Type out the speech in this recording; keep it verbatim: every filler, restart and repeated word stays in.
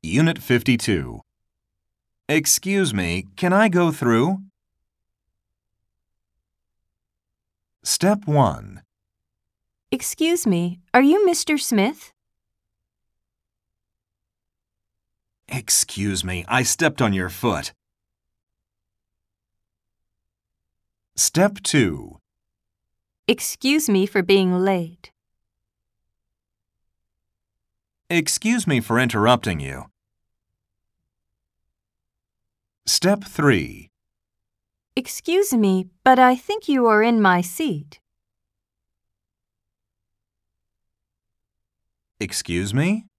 Unit fifty-two. Excuse me, can I go through? Step one. Excuse me, are you Mister Smith? Excuse me, I stepped on your foot. Step two. Excuse me for being late. Excuse me for interrupting you. Step three. Excuse me, but I think you are in my seat. Excuse me?